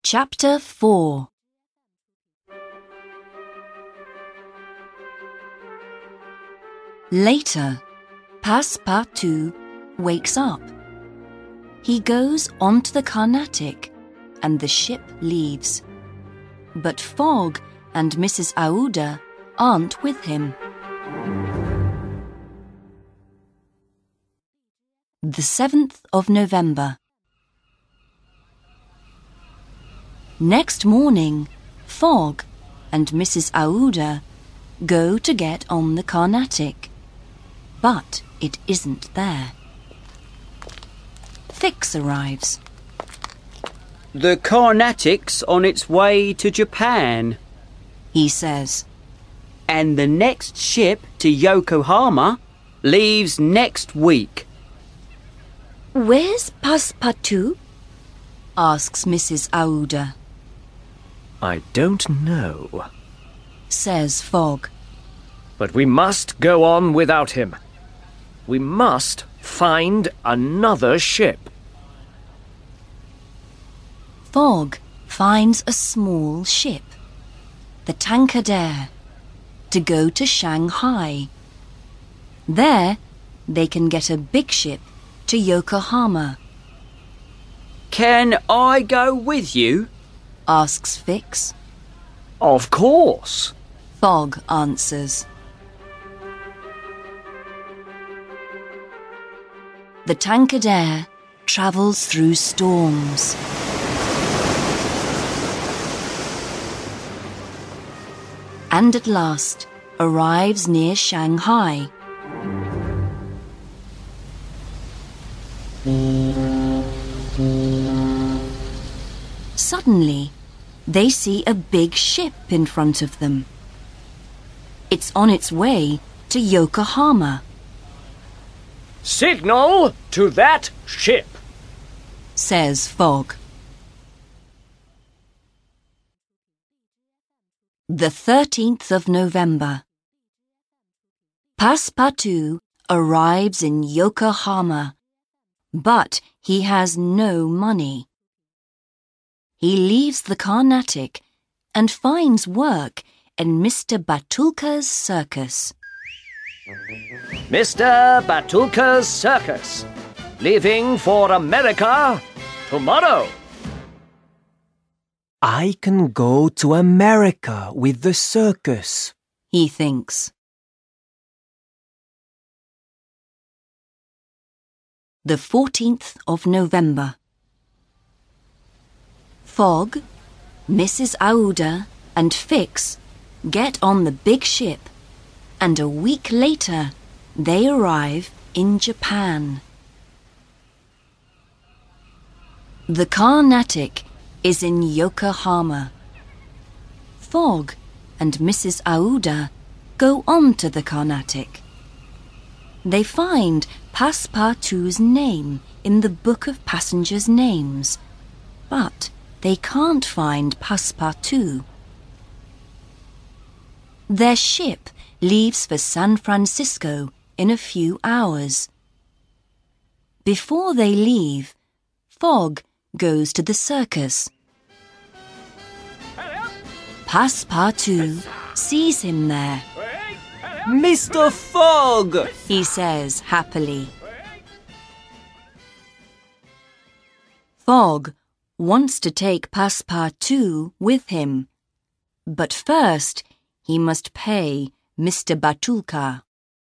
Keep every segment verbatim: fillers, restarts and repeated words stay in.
Chapter four. Later, Passepartout wakes up. He goes onto the Carnatic and the ship leaves. But Fogg and Missus Aouda aren't with him. The seventh of November. Next morning, Fogg and Missus Aouda go to get on the Carnatic, but it isn't there. Fix arrives. The Carnatic's on its way to Japan, he says. And the next ship to Yokohama leaves next week. Where's Passepartout? Asks Missus Aouda. I don't know, says Fogg. but we must go on without him. We must find another ship. Fogg finds a small ship, the Tankadere, to go to Shanghai. There, they can get a big ship to Yokohama. Can I go with you? Asks Fix. Of course. Fogg answers. The Tankadere travels through storms. And at last arrives near Shanghai. Suddenly, they see a big ship in front of them. It's on its way to Yokohama. Signal to that ship, says Fogg. The thirteenth of November. Passepartout arrives in Yokohama, but he has no money. He leaves the Carnatic and finds work in Mister Batulka's circus. Mister Batulka's circus, leaving for America tomorrow. I can go to America with the circus, he thinks. The fourteenth of November. Fogg, Missus Aouda and Fix get on the big ship, and a week later they arrive in Japan. The Carnatic is in Yokohama. Fogg and Missus Aouda go on to the Carnatic. They find Passepartout's name in the book of passengers' names, but they can't find Passepartout. Their ship leaves for San Francisco in a few hours. Before they leave, Fogg goes to the circus. Passepartout sees him there. Mister Fogg, he says happily. Fogg wants to take Passepartout with him, but first he must pay Mister Batulka.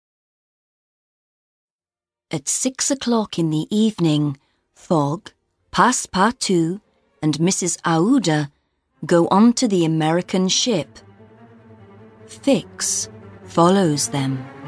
At six o'clock in the evening, Fogg, Passepartout and Missus Aouda go on to the American ship. Fix follows them.